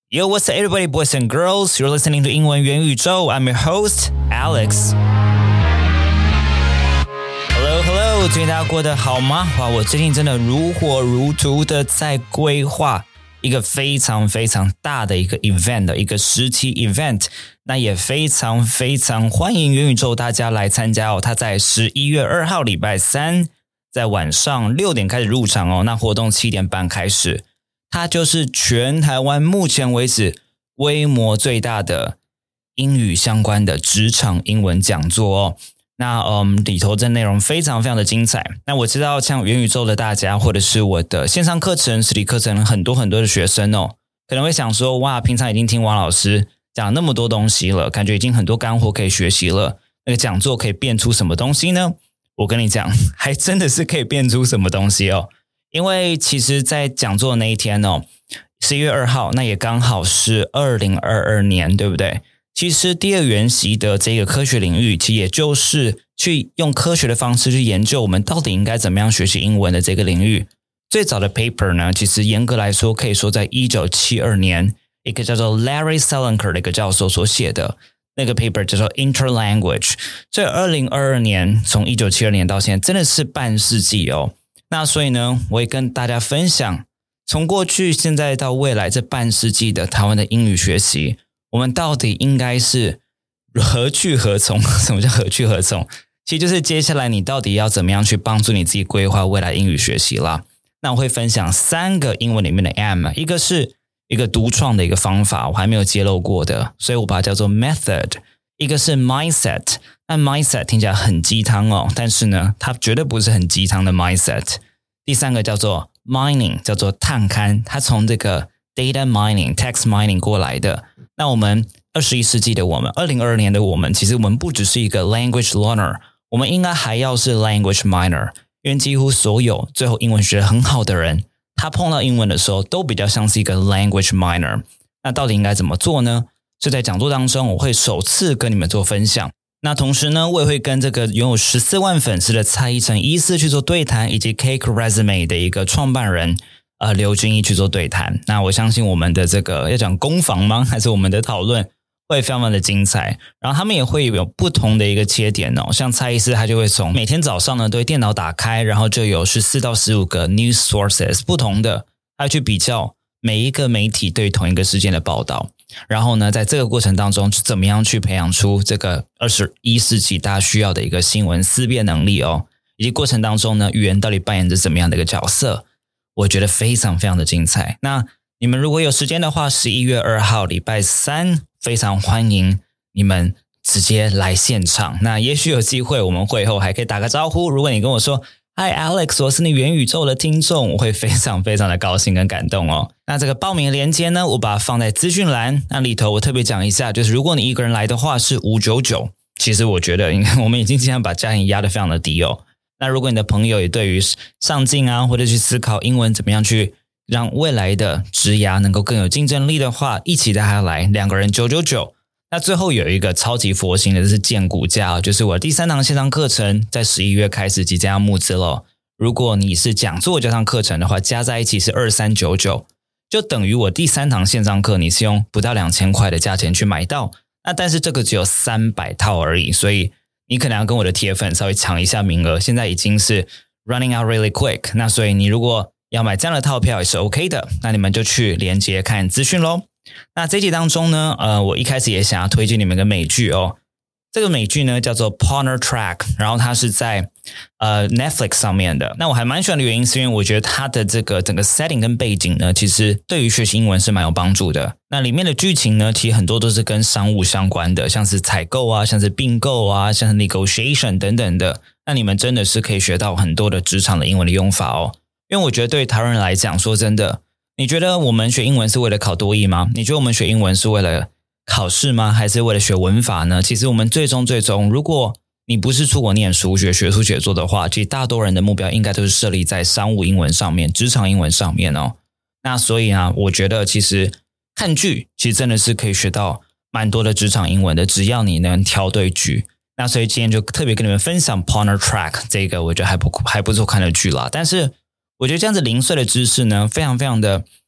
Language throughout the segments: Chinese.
Yo, what's up, everybody, boys and girls? You're listening to 英文元宇宙. I'm your host, Alex. Hello, 最近大家过得好吗？哇，我最近真的如火如荼的在规划一个非常非常大的一个 event 的一个实体 event， 那也非常非常欢迎元宇宙大家来参加哦。它在11月2号礼拜三，在晚上6点开始入场哦。那活动7点半开始。它就是全台湾目前为止规模最大的英语相关的职场英文讲座哦。那里头的内容非常非常的精彩。那我知道像元宇宙的大家，或者是我的线上课程、实体课程很多的学生哦，可能会想说，哇，平常已经听王老师讲那么多东西了，感觉已经很多干货可以学习了。那个讲座可以变出什么东西呢？我跟你讲，还真的是可以变出什么东西哦。因为其实在讲座的那一天哦，11月2号，那也刚好是2022年，对不对？其实第二元席的这个科学领域，其实也就是去用科学的方式去研究我们到底应该怎么样学习英文的这个领域。最早的 paper 呢，其实严格来说可以说在1972年，一个叫做 Larry Salenker 的一个教授所写的那个 paper 叫做 Interlanguage。所以2022年，从1972年到现在，真的是半世纪哦。那所以呢，我也跟大家分享，从过去、现在到未来这半世纪的台湾的英语学习，我们到底应该是何去何从？什么叫何去何从？其实就是接下来你到底要怎么样去帮助你自己规划未来英语学习啦。那我会分享3个英文里面的 M， 一个是一个独创的一个方法，我还没有揭露过的，所以我把它叫做 method。一个是 mindset， 那 mindset 听起来很鸡汤哦，但是呢，它绝对不是很鸡汤的 mindset。第3个叫做 mining， 叫做探勘，它从这个 data mining、text mining 过来的。那我们21世纪的我们，2022年的我们，其实我们不只是一个 language learner， 我们应该还要是 language miner， 因为几乎所有最后英文学得很好的人，他碰到英文的时候都比较像是一个 language miner。那到底应该怎么做呢？就在讲座当中，我会首次跟你们做分享。那同时呢，我也会跟这个拥有14万粉丝的蔡依晨医师去做对谈，以及 Cake Resume 的一个创办人刘君毅去做对谈。那我相信我们的这个要讲攻防吗？还是我们的讨论会非常的精彩。然后他们也会有不同的一个切点哦，像蔡医师他就会从每天早上呢，对电脑打开，然后就有14到15个 news sources 不同的，他去比较每一个媒体对同一个事件的报道。然后呢，在这个过程当中，怎么样去培养出这个21世纪大家需要的一个新闻思辨能力哦，以及过程当中呢，语言到底扮演着怎么样的一个角色，我觉得非常非常的精彩。那你们如果有时间的话，11月2号礼拜三，非常欢迎你们直接来现场。那也许有机会，我们会后还可以打个招呼。如果你跟我说Hi Alex， 我是你元宇宙的听众，我会非常非常的高兴跟感动哦。那这个报名的链接呢，我把它放在资讯栏，那里头我特别讲一下，就是如果你一个人来的话是599，其实我觉得我们已经尽量把价钱压得非常的低哦。那如果你的朋友也对于上进啊，或者去思考英文怎么样去让未来的职涯能够更有竞争力的话，一起带他来，2个人999。那最后有一个超级佛心的，就是荐股价，就是我第3堂线上课程在11月开始即将要募资了。如果你是讲座加上课程的话，加在一起是2399，就等于我第3堂线上课你是用不到2000块的价钱去买到。那但是这个只有300套而已，所以你可能要跟我的铁粉稍微抢一下名额，现在已经是 running out really quick。那所以你如果要买这样的套票也是 OK 的，那你们就去连结看资讯咯。那这一集当中呢，我一开始也想要推荐你们一个美剧哦。这个美剧呢叫做 Partner Track， 然后它是在Netflix 上面的。那我还蛮喜欢的原因是因为我觉得它的这个整个 setting 跟背景呢，其实对于学习英文是蛮有帮助的。那里面的剧情呢，其实很多都是跟商务相关的，像是采购啊，像是并购啊，像是 negotiation 等等的。那你们真的是可以学到很多的职场的英文的用法哦。因为我觉得对于台湾人来讲，说真的，你觉得我们学英文是为了考多益吗？你觉得我们学英文是为了考试吗？还是为了学文法呢？其实我们最终，如果你不是出国念书学术写作的话，其实大多人的目标应该都是设立在商务英文上面、职场英文上面哦。那所以啊，我觉得其实看剧其实真的是可以学到蛮多的职场英文的，只要你能挑对剧。那所以今天就特别跟你们分享 Partner Track 这个我觉得还不错看的剧啦。但是我觉得这样子零碎的知识呢，非常非常的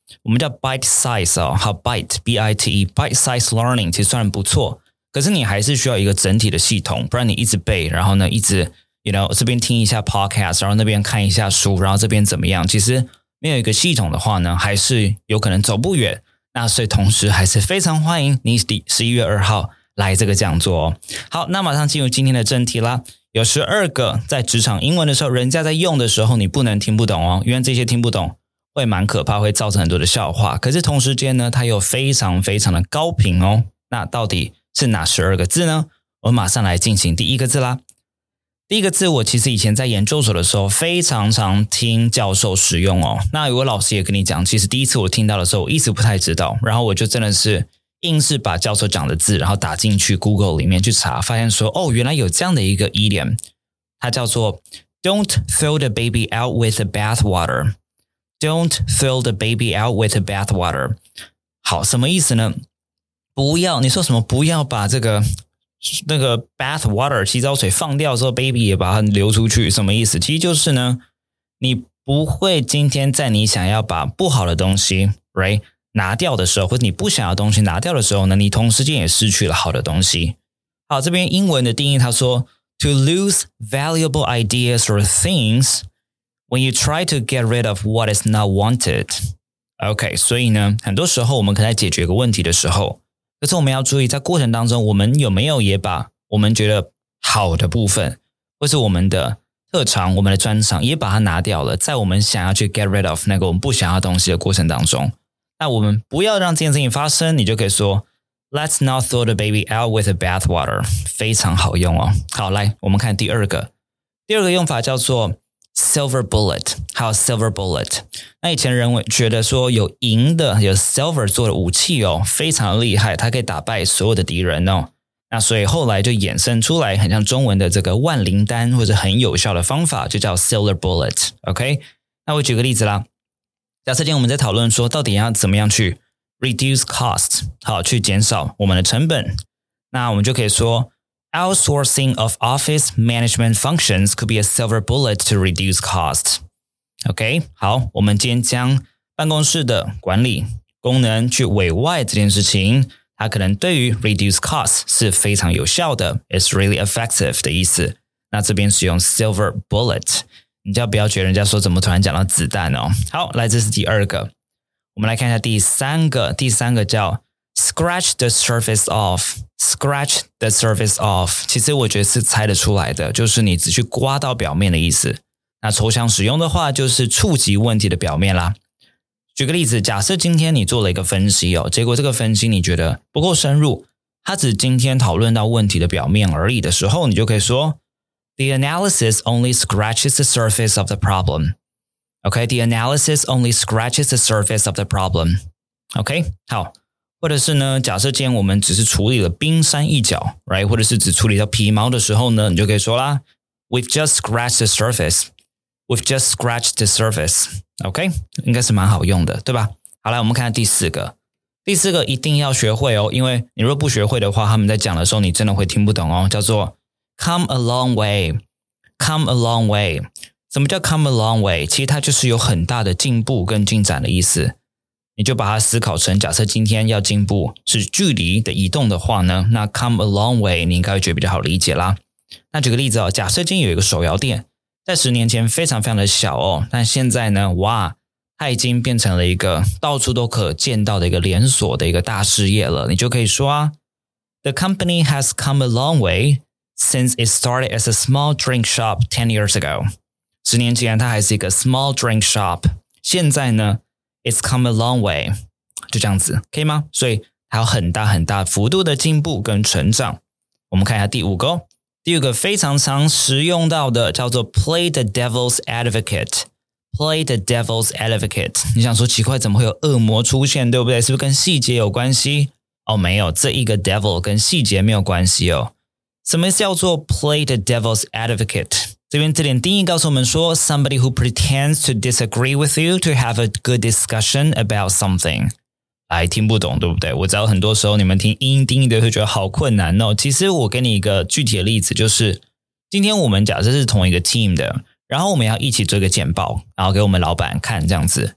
我们叫 bite size 哦，好 bite B-I-T-E bite size learning 其实虽然不错，可是你还是需要一个整体的系统，不然你一直背，然后呢一直这边听一下 podcast， 然后那边看一下书，然后这边怎么样，其实没有一个系统的话呢，还是有可能走不远。那所以同时还是非常欢迎你11月2号来这个讲座哦。好，那马上进入今天的正题啦。有12个在职场英文的时候，人家在用的时候你不能听不懂哦，因为这些听不懂会蛮可怕，会造成很多的笑话。可是同时间呢，它又非常非常的高频哦。那到底是哪12个字呢？我们马上来进行第一个字啦。第一个字我其实以前在研究所的时候非常常听教授使用哦。那有个老师也跟你讲，其实第一次我听到的时候我一直不太知道，然后我就真的是硬是把教授讲的字然后打进去 Google 里面去查，发现说原来有这样的一个idiom，它叫做 Don't throw the baby out with the bathwater。 Don't throw the baby out with the bathwater。 好，什么意思呢？不要，你说什么不要把那个 bath water 洗澡水放掉之后 baby 也把它流出去，什么意思？其实就是呢，你不会今天在你想要把不好的东西 right 拿掉的时候，或者你不想要的东西拿掉的时候呢，你同时间也失去了好的东西。好，这边英文的定义他说 To lose valuable ideas or things when you try to get rid of what is not wanted。 OK， 所以呢很多时候我们可能在解决一个问题的时候，可是我们要注意在过程当中我们有没有也把我们觉得好的部分或是我们的特长我们的专长也把它拿掉了，在我们想要去 get rid of 那个我们不想要的东西的过程当中，那我们不要让这件事情发生，你就可以说 Let's not throw the baby out with the bathwater。 非常好用哦。好，来我们看第二个用法叫做 silver bullet。 还有 silver bullet， 那以前人觉得说有银的有 silver 做的武器哦非常厉害，它可以打败所有的敌人哦。那所以后来就衍生出来很像中文的这个万灵丹，或者很有效的方法就叫 silver bullet。 OK， 那我举个例子啦。假设今天我们在讨论说到底要怎么样去 reduce cost， 好，去减少我们的成本，那我们就可以说Outsourcing of office management functions could be a silver bullet to reduce cost。 OK， 好，我们今天将办公室的管理功能去委外这件事情，它可能对于 reduce cost 是非常有效的， It's really effective 的意思。那这边使用 silver bullet， 你就不要觉得人家说怎么突然讲到子弹哦。好，来，这是第二个。我们来看一下第三个叫Scratch the surface off。 Scratch the surface off 其实我觉得是猜得出来的，就是你只去刮到表面的意思。那抽象使用的话就是触及问题的表面啦。举个例子，假设今天你做了一个分析哦，结果这个分析你觉得不够深入，它只今天讨论到问题的表面而已的时候，你就可以说 The analysis only scratches the surface of the problem。 OK， The analysis only scratches the surface of the problem。 OK， 好。或者是呢，假设今天我们只是处理了冰山一角 right， 或者是只处理到皮毛的时候呢，你就可以说啦 We've just scratched the surface。 We've just scratched the surface。 OK， 应该是蛮好用的，对吧？好，来我们看第四个一定要学会哦，因为你若不学会的话，他们在讲的时候你真的会听不懂哦，叫做 come a long way。 come a long way， 什么叫 come a long way？ 其实它就是有很大的进步跟进展的意思。你就把它思考成，假设今天要进步是距离的移动的话呢，那 come a long way 你应该会觉得比较好理解啦。那举个例子哦，假设今天有一个手摇店，在10年前非常非常的小哦，但现在呢，哇，它已经变成了一个到处都可见到的一个连锁的一个大事业了。你就可以说啊 The company has come a long way since it started as a small drink shop 10 years ago。 10年前它还是一个 small drink shop， 现在呢It's come a long way， 就这样子，可以吗？所以还有很大很大幅度的进步跟成长。我们看一下第五个非常常使用到的叫做 play the devil's advocate。play the devil's advocate， 你想说奇怪怎么会有恶魔出现，对不对？是不是跟细节有关系？哦，没有，这一个 devil 跟细节没有关系哦。什么叫做 play the devil's advocate？这边这点定义告诉我们说 somebody who pretends to disagree with you to have a good discussion about something。 听不懂对不对？我知道很多时候你们听英定义的会觉得好困难哦。其实我给你一个具体的例子，就是今天我们假设是同一个 team 的，然后我们要一起做一个简报，然后给我们老板看这样子。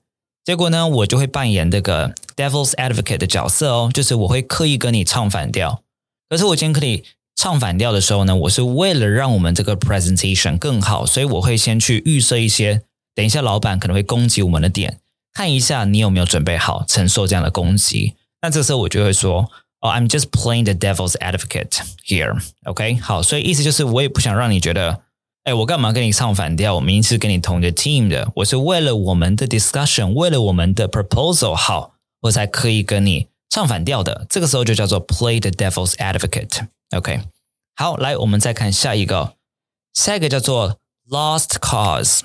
结果呢，我就会扮演这个 devil's advocate 的角色哦，就是我会刻意跟你唱反调。可是我今天可以唱反调的时候呢，我是为了让我们这个 presentation 更好，所以我会先去预设一些，等一下老板可能会攻击我们的点，看一下你有没有准备好承受这样的攻击。那这时候我就会说I'm just playing the devil's advocate here. OK, 好，所以意思就是我也不想让你觉得我干嘛跟你唱反调，我明明是跟你同一个 team 的，我是为了我们的 discussion， 为了我们的 proposal 好，我才刻意跟你唱反调的。这个时候就叫做 play the devil's advocate. OK, 好，来我们再看下一个叫做 lost cause.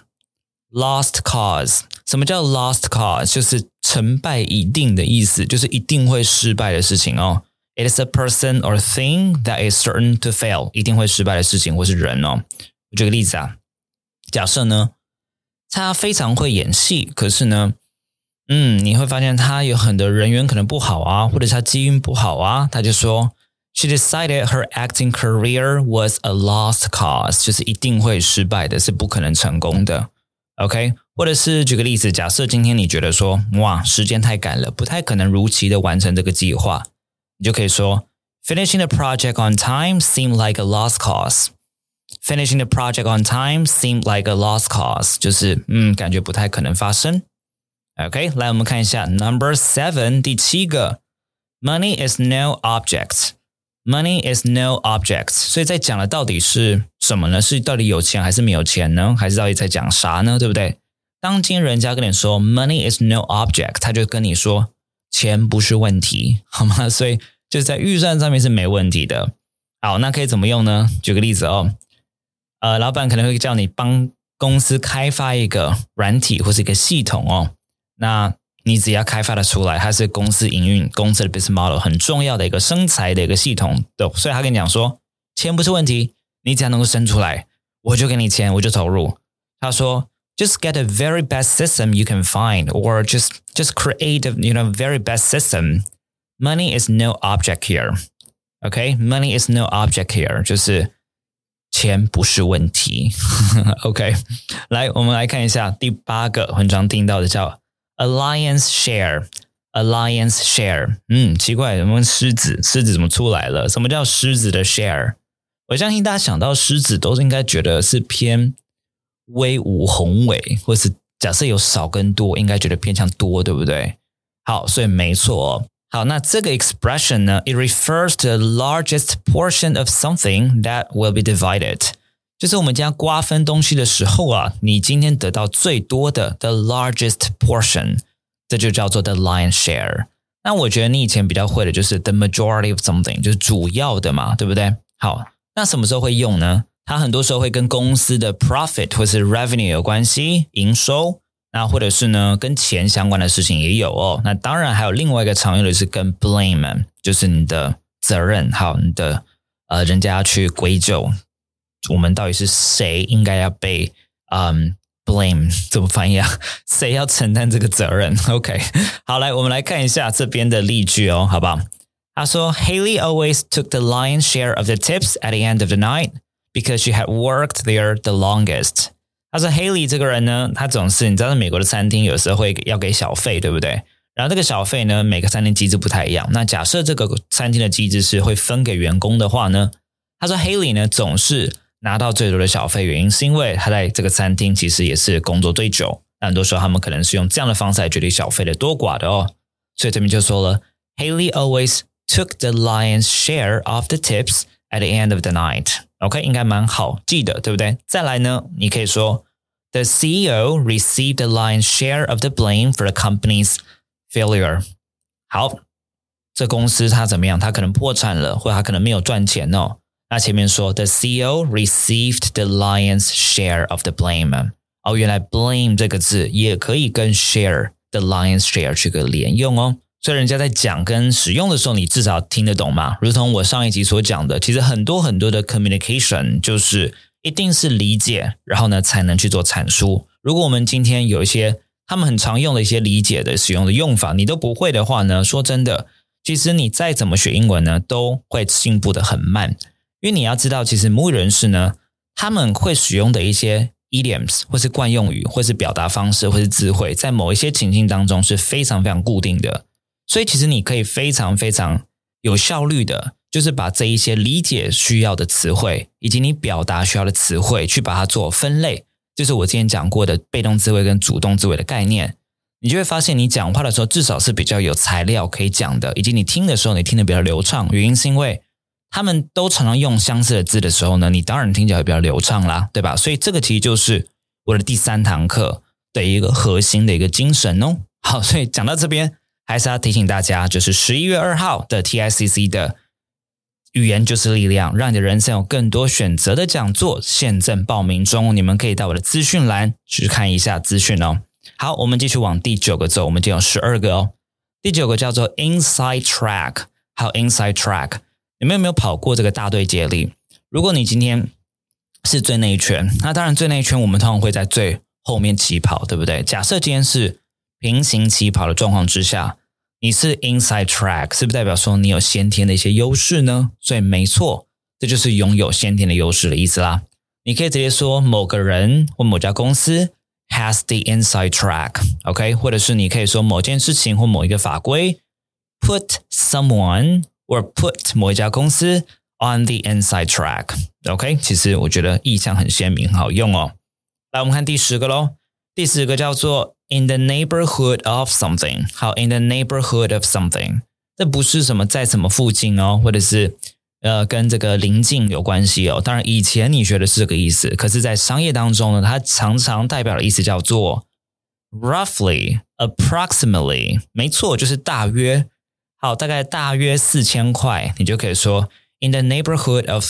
Lost cause， 什么叫 lost cause？ 就是成败已定的意思，就是一定会失败的事情哦。It is a person or thing that is certain to fail， 一定会失败的事情或是人哦。我举个例子啊，假设呢，他非常会演戏，可是呢，你会发现他有很多人缘可能不好啊，或者是他机运不好啊，他就说 She decided her acting career was a lost cause， 就是一定会失败的，是不可能成功的。OK， 或者是举个例子，假设今天你觉得说，哇，时间太赶了，不太可能如期的完成这个计划，你就可以说 Finishing the project on time seemed like a lost cause. Finishing the project on time seemed like a lost cause， 就是感觉不太可能发生。OK， 来我们看一下 Number 7， 第7个 Money is no object。Money is no object， 所以在讲的到底是什么呢？是到底有钱还是没有钱呢？还是到底在讲啥呢？对不对？当今人家跟你说 Money is no object， 他就跟你说钱不是问题，好吗？所以就是在预算上面是没问题的。好，那可以怎么用呢？举个例子哦，老板可能会叫你帮公司开发一个软体或是一个系统哦，那你只要开发的出来，它是公司营运公司的 business model 很重要的一个生财的一个系统的，所以他跟你讲说钱不是问题，你只要能够生出来，我就给你钱，我就投入。他说 just get a very best system you can find or just create a very best system. Money is no object here. Okay, money is no object here， 就是钱不是问题。OK， 来我们来看一下第8个很常听到的叫Alliance share， 奇怪，我们狮子怎么出来了？什么叫狮子的 share？ 我相信大家想到狮子都是应该觉得是偏威武宏伟，或是假设有少跟多，应该觉得偏向多，对不对？好，所以没错哦。好，那这个 expression 呢 ，it refers to the largest portion of something that will be divided。就是我们将瓜分东西的时候啊，你今天得到最多的 the largest portion， 这就叫做 the lion's share。那我觉得你以前比较会的就是 the majority of something， 就是主要的嘛，对不对？好，那什么时候会用呢？它很多时候会跟公司的 profit 或是 revenue 有关系，营收，那或者是呢跟钱相关的事情也有哦。那当然还有另外一个常用的是跟 blame， 就是你的责任，好，你的人家要去归咎。我们到底是谁应该要被blame 怎么翻译啊？谁要承担这个责任 ？OK， 好，来我们来看一下这边的例句哦，好不好？他说 Haley always took the lion's share of the tips at the end of the night because she had worked there the longest。他说 Haley 这个人呢，他总是你知道，美国的餐厅有时候会要给小费，对不对？然后这个小费呢，每个餐厅机制不太一样。那假设这个餐厅的机制是会分给员工的话呢，他说 Haley 呢总是拿到最多的小费，原因是因为他在这个餐厅其实也是工作最久，那很多时候他们可能是用这样的方式来决定小费的多寡的哦。所以这边就说了 Haley always took the lion's share of the tips at the end of the night。 OK， 应该蛮好记的，对不对？再来呢，你可以说 The CEO received the lion's share of the blame for the company's failure。 好，这公司它怎么样？它可能破产了，或者它可能没有赚钱哦。那前面说 The CEO received the lion's share of the blame。 哦，原来 blame 这个字也可以跟 share the lion's share 去个连用哦。所以人家在讲跟使用的时候，你至少听得懂嘛。如同我上一集所讲的，其实很多的 communication 就是一定是理解，然后呢才能去做阐述。如果我们今天有一些他们很常用的一些理解的使用的用法你都不会的话呢，说真的，其实你再怎么学英文呢，都会进步的很慢。因为你要知道，其实母语人士呢，他们会使用的一些 idioms 或是惯用语或是表达方式或是字汇，在某一些情境当中是非常非常固定的，所以其实你可以非常非常有效率的，就是把这一些理解需要的词汇以及你表达需要的词汇去把它做分类，就是我之前讲过的被动字汇跟主动字汇的概念，你就会发现你讲话的时候至少是比较有材料可以讲的，以及你听的时候你听得比较流畅，原因是因为他们都常常用相似的字的时候呢，你当然听起来会比较流畅啦，对吧？所以这个其实就是我的第3堂课的一个核心的一个精神哦。好，所以讲到这边还是要提醒大家，就是11月2号的 TICC 的语言就是力量，让你的人生有更多选择的讲座现正报名中，你们可以到我的资讯栏去看一下资讯哦。好，我们继续往第9个走，我们就有12个哦。第9个叫做 Inside Track。 好， Inside Track，你们有没有跑过这个大队接力？如果你今天是最内圈，那当然最内圈我们通常会在最后面起跑，对不对？假设今天是平行起跑的状况之下，你是 inside track， 是不是代表说你有先天的一些优势呢？所以没错，这就是拥有先天的优势的意思啦。你可以直接说某个人或某家公司 has the inside track， OK？ 或者是你可以说某件事情或某一个法规 put someone or put 某一家公司 on the inside track， OK？ 其实我觉得意象很鲜明，很好用哦。来，我们看第10个咯。第10个叫做 in the neighborhood of something。 好， in the neighborhood of something， 这不是什么在什么附近哦，或者是跟这个邻近有关系哦。当然以前你学的是这个意思，可是在商业当中呢，它常常代表的意思叫做 roughly approximately， 没错，就是大约。好，大概大约4000块，你就可以说 in the neighborhood of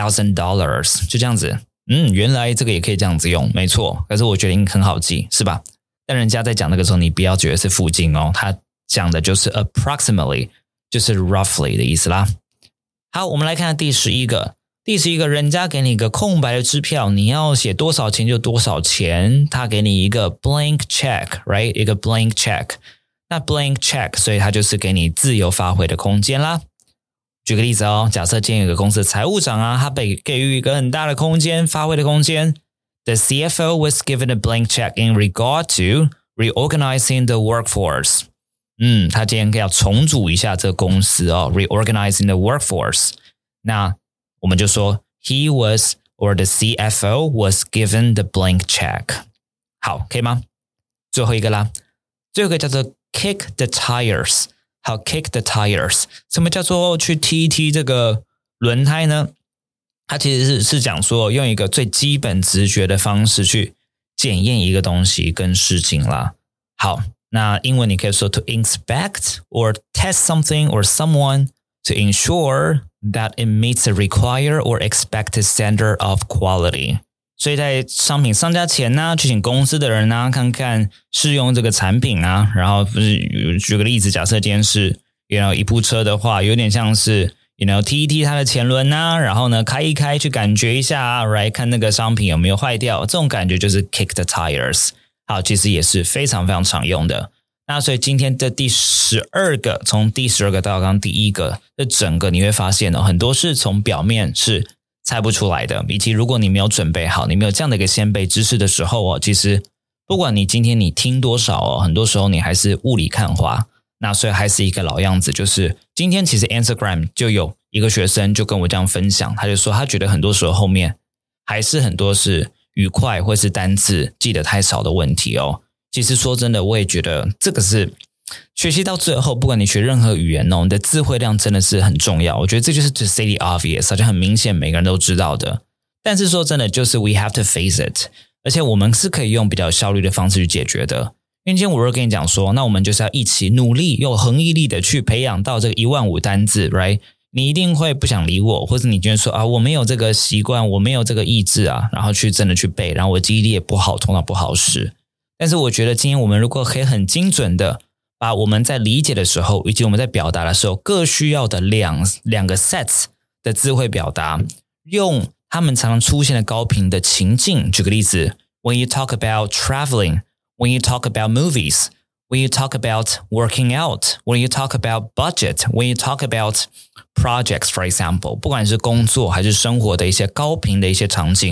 $4,000， 就这样子。原来这个也可以这样子用，没错。可是我觉得很好记，是吧？但人家在讲那个时候，你不要觉得是附近哦，他讲的就是 approximately， 就是 roughly 的意思啦。好，我们来看第11个。第11个，人家给你一个空白的支票，你要写多少钱就多少钱，他给你一个 blank check，right？ 一个 blank check。那 blank check， 所以它就是给你自由发挥的空间啦。举个例子哦，假设今天有个公司的财务长啊，他被给予一个很大的空间，发挥的空间。The CFO was given a blank check in regard to reorganizing the workforce。他今天要重组一下这个公司哦 ，reorganizing the workforce。那我们就说 he was or the CFO was given the blank check。好，可以吗？最后一个啦，最后一个叫做 kick the tires。好 kick the tires， 什么叫做去踢一踢这个轮胎呢？它其实是讲说用一个最基本直觉的方式去检验一个东西跟事情啦。好，那英文你可以说 to inspect or test something or someone to ensure that it meets the required or expected standard of quality。所以在商品上架前呢，去请公司的人呢看看试用这个产品啊，然后举个例子，假设今天是一部车的话，有点像是踢一踢它的前轮啊，然后呢开一开去感觉一下啊，来看那个商品有没有坏掉，这种感觉就是 kick the tires。好，其实也是非常非常常用的。那所以今天的第12个，从第12个到刚刚第1个，这整个你会发现很多是从表面是猜不出来的，以及如果你没有准备好，你没有这样的一个先辈知识的时候其实不管你今天你听多少很多时候你还是雾里看花。那所以还是一个老样子，就是今天其实 Instagram 就有一个学生就跟我这样分享，他就说他觉得很多时候后面还是很多是语快或是单字记得太少的问题哦。其实说真的，我也觉得这个是学习到最后，不管你学任何语言你的词汇量真的是很重要。我觉得这就是 to say the obvious， 好像很明显每个人都知道的。但是说真的，就是 we have to face it， 而且我们是可以用比较有效率的方式去解决的。因为今天我如果跟你讲说，那我们就是要一起努力，用恒毅力的去培养到这个15000单字 ，right？ 你一定会不想理我，或者你觉得说我没有这个习惯，我没有这个意志啊，然后去真的去背，然后我记忆力也不好，头脑不好使。但是我觉得今天我们如果可以很精准的把我们在理解的时候，以及我们在表达的时候各需要的两个 sets 的字汇表达，用他们常常出现的高频的情境。举个例子 ，When you talk about traveling。When you talk about movies, when you talk about working out, when you talk about budget, when you talk about projects, for example, 不管是工作还是生活的一些高频的一些场景，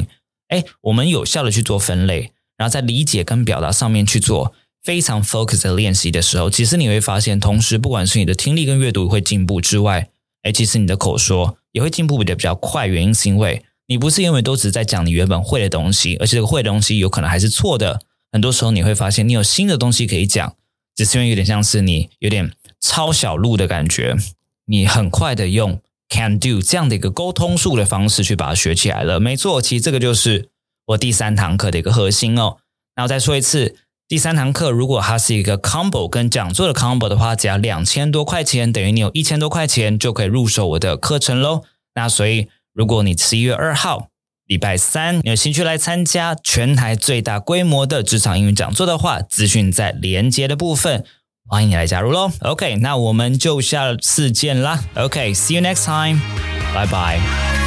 我们有效的去做分类，然后在理解跟表达上面去做非常 focus 的练习的时候，其实你会发现，同时不管是你的听力跟阅读会进步之外，其实你的口说也会进步的比较快，原因是因为你不是因为都只是在讲你原本会的东西，而且这个会的东西有可能还是错的，很多时候你会发现你有新的东西可以讲，只是因为有点像是你有点抄小路的感觉，你很快的用 can do 这样的一个沟通术的方式去把它学起来了。没错，其实这个就是我第3堂课的一个核心哦。然后再说一次，第3堂课如果它是一个 combo 跟讲座的 combo 的话，只要2000多块钱，等于你有1000多块钱就可以入手我的课程咯。那所以如果你11月2号礼拜3你有兴趣来参加全台最大规模的职场英语讲座的话，资讯在连结的部分，欢迎你来加入咯。 OK， 那我们就下次见啦。 OK， see you next time， 拜拜。